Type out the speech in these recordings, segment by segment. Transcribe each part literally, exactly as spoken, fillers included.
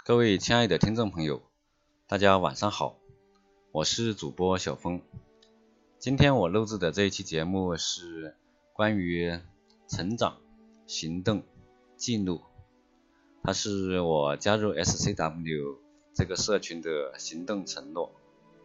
各位亲爱的听众朋友，大家晚上好，我是主播小峰。今天我录制的这一期节目是关于成长、行动、记录，它是我加入 S C W 这个社群的行动承诺。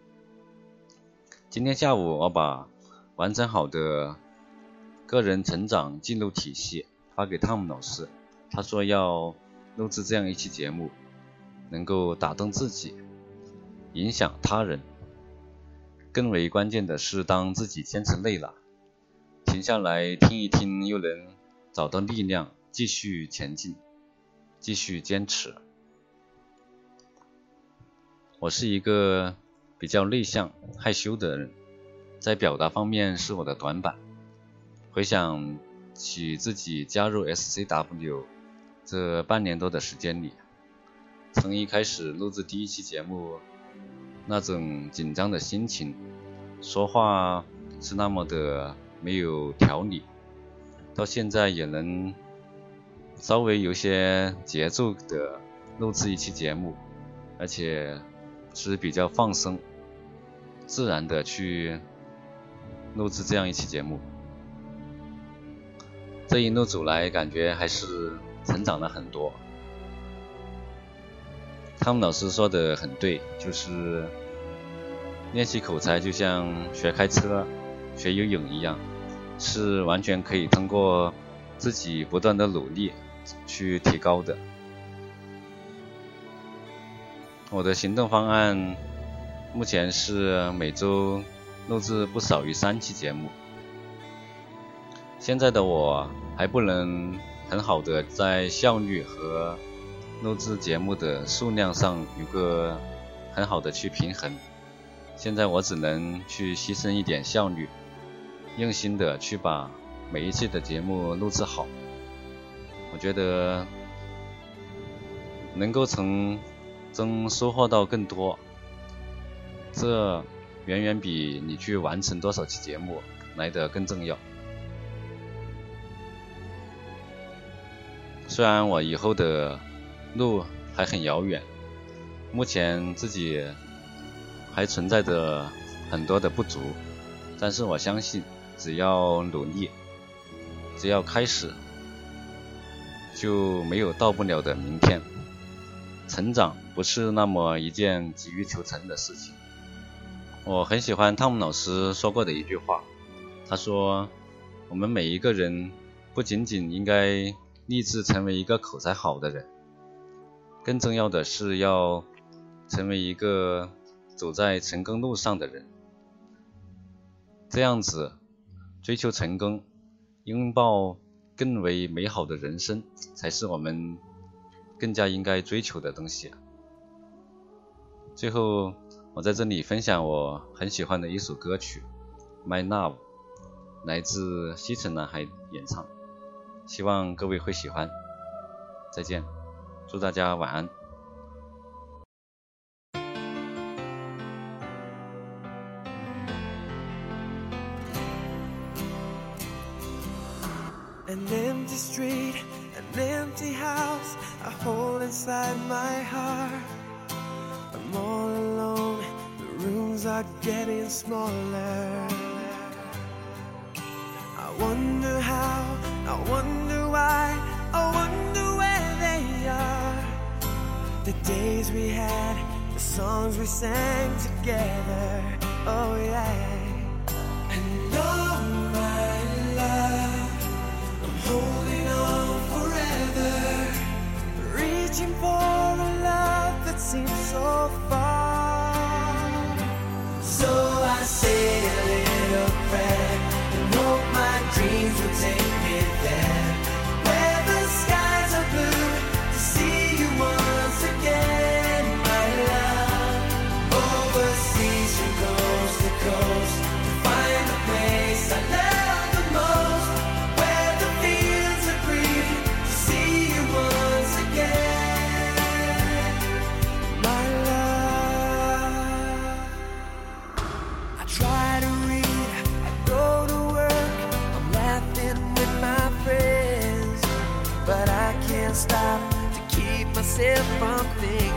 今天下午我把完成好的个人成长记录体系发给汤姆老师，他说要录制这样一期节目，能够打动自己，影响他人。更为关键的是，当自己坚持累了，停下来听一听，又能找到力量，继续前进，继续坚持。我是一个比较内向、害羞的人，在表达方面是我的短板。回想起自己加入 S C W 这半年多的时间里，从一开始录制第一期节目，那种紧张的心情，说话是那么的没有条理，到现在也能稍微有些节奏的录制一期节目，而且是比较放松自然的去录制这样一期节目。这一路走来，感觉还是成长了很多。汤姆老师说的很对，就是练习口才就像学开车、学游泳一样，是完全可以通过自己不断的努力去提高的。我的行动方案目前是每周录制不少于三期节目。现在的我还不能很好的在效率和录制节目的数量上有个很好的去平衡，现在我只能去牺牲一点效率，用心的去把每一期的节目录制好。我觉得能够从中收获到更多，这远远比你去完成多少期节目来得更重要。虽然我以后的路还很遥远，目前自己还存在着很多的不足，但是我相信只要努力，只要开始，就没有到不了的明天。成长不是那么一件急于求成的事情。我很喜欢汤姆老师说过的一句话，他说我们每一个人不仅仅应该立志成为一个口才好的人，更重要的是要成为一个走在成功路上的人。这样子追求成功，拥抱更为美好的人生，才是我们更加应该追求的东西。最后我在这里分享我很喜欢的一首歌曲 My Love， 来自西城男孩演唱，希望各位会喜欢。再见，祝大家晚安。 An empty street, an empty house, a hole inside my heart. I'm all alone, the rooms are getting smaller. I wonder how, I wonder why, I wonder where they are. The days we had, the songs we sang together, oh yeah. And oh my love, holding on forever, reaching for a love that seems so far. So I say a little prayer and hope my dreams will take me there, where the skies are blue, to see you once again, my love. Overseas from coast to coast, to find the place I love the most, where the fields are green, to see you once again, my love. I try to read, I go to work, I'm laughing with my friends, but I can't stop to keep myself from thinking